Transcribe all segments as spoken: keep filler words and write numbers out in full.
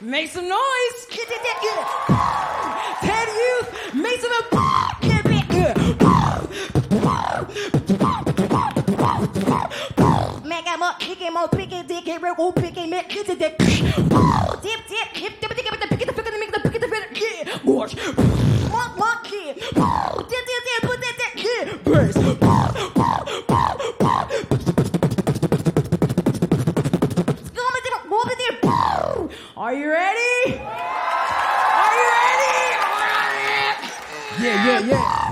make some noise. Ted Youth, make some noise. Make him up, pick him up, pick it, dick, it, real, pick him, make it, dick. Dip, dip, dip, dip, dip, dip, dip, pick it, pick it, make the, pick it, pick it, yeah. Wash. Walk, walk, yeah. Dip, dip, dip, put that, that, yeah. Brace. Are you ready? Are you ready? Yeah, yeah, yeah.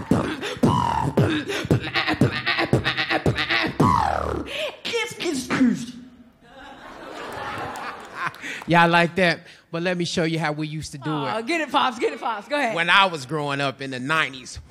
Yeah, I like that. But let me show you how we used to do oh, it. Get it, Pops. Get it, Pops. Go ahead. When I was growing up in the nineties.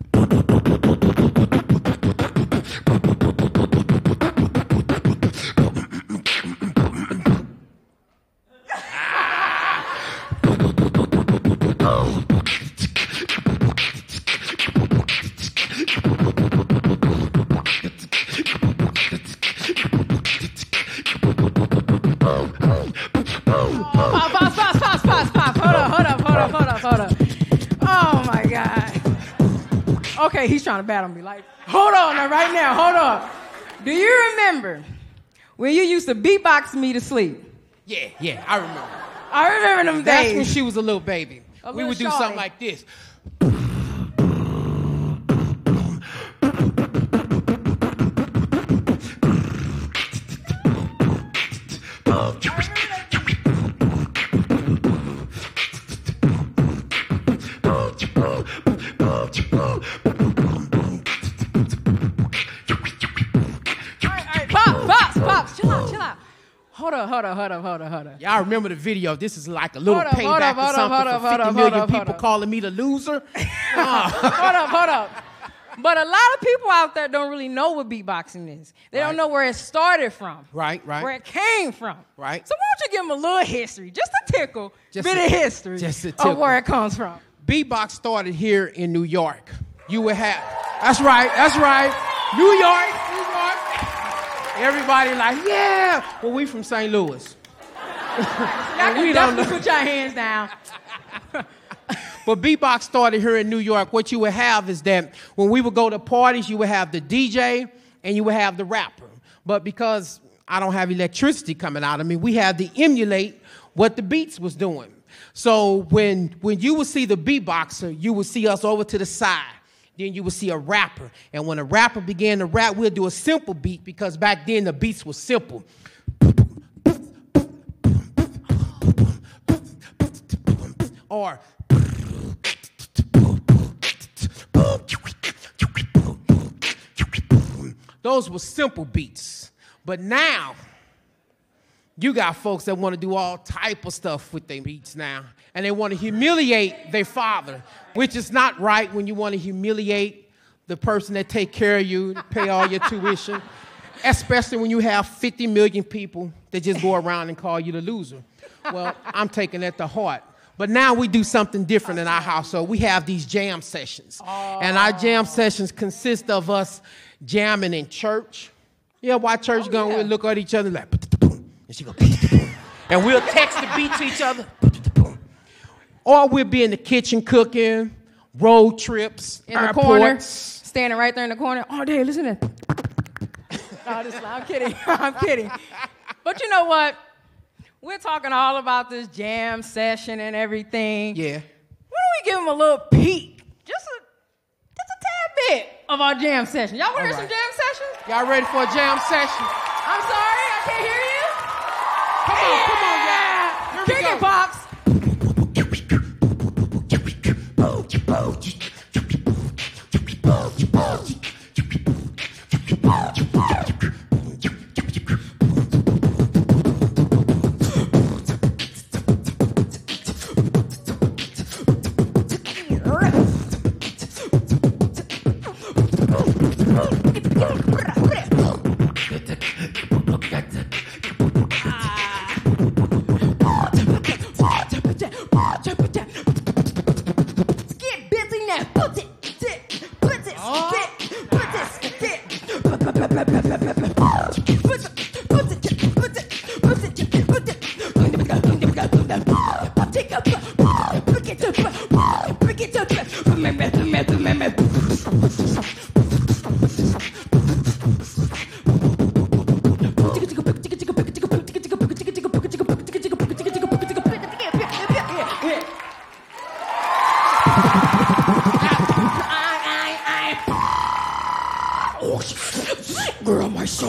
Okay, he's trying to battle me. Like, hold on now, right now, hold on. Do you remember when you used to beatbox me to sleep? Yeah, yeah, I remember. I remember them That's days. when she was a little baby. A we little would do shorty. something like this. Hold up, hold up, hold up, hold up, hold up. Y'all remember the video? This is like a little Hold up, payback hold up, for hold up, something hold up, for hold fifty up, million hold up, people hold up. calling me the loser. Uh. Hold up, hold up. But a lot of people out there don't really know what beatboxing is. They Right. don't know where it started from. Right, right. Where it came from. Right. So why don't you give them a little history, just a tickle, Just bit a- of history just a of tickle. where it comes from. Beatbox started here in New York. You would have, that's right, that's right. New York, New York. Everybody like, yeah. Well, we from Saint Louis. Y'all can we don't definitely know. put your hands down. But beatbox started here in New York. What you would have is that when we would go to parties, you would have the D J and you would have the rapper. But because I don't have electricity coming out of me, we had to emulate what the beats was doing. So when, when you would see the beatboxer, you would see us over to the side. Then you would see a rapper. And when a rapper began to rap, we'll do a simple beat because back then the beats were simple. Or those were simple beats. But now, you got folks that want to do all type of stuff with their beats now. And they want to humiliate their father, which is not right when you want to humiliate the person that take care of you, pay all your tuition, especially when you have fifty million people that just go around and call you the loser. Well, I'm taking that to heart. But now we do something different in our household. We have these jam sessions. Oh. And our jam sessions consist of us jamming in church. Yeah, why church oh, going, yeah. We'll look at each other like, and she go, and we'll text the beat to each other. Or we'll be in the kitchen cooking, road trips, in the airports. corner, standing right there in the corner. Oh, Dad, listen to that. No, this, I'm kidding. I'm kidding. But you know what? We're talking all about this jam session and everything. Yeah. Why don't we give them a little peek, just a, just a tad bit of our jam session? Y'all want to hear right. some jam sessions? Y'all ready for a jam session? I'm sorry, I can't hear you. Come on, come on, y'all. Here Kick we go. it, Pops.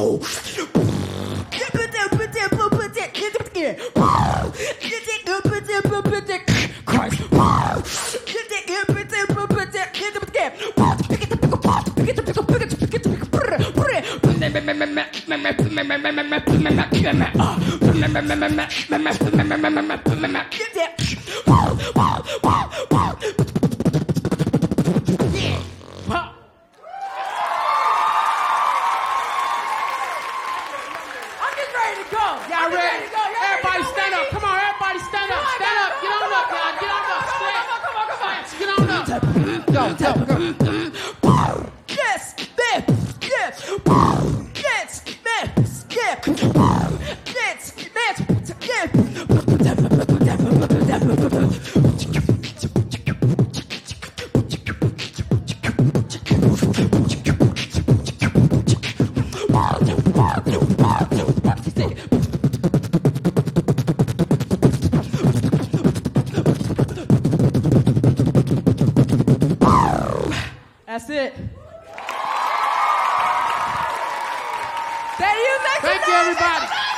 Y'all ready? Everybody stand up. Come on, everybody stand up. Stand up. Get on up, y'all. Get on up. Stretch. Come on, come on. Get on up. Go, go, go. Yes, yes, yes, yes, yes, yes, yes, That's it. Thank you, Thank you, everybody.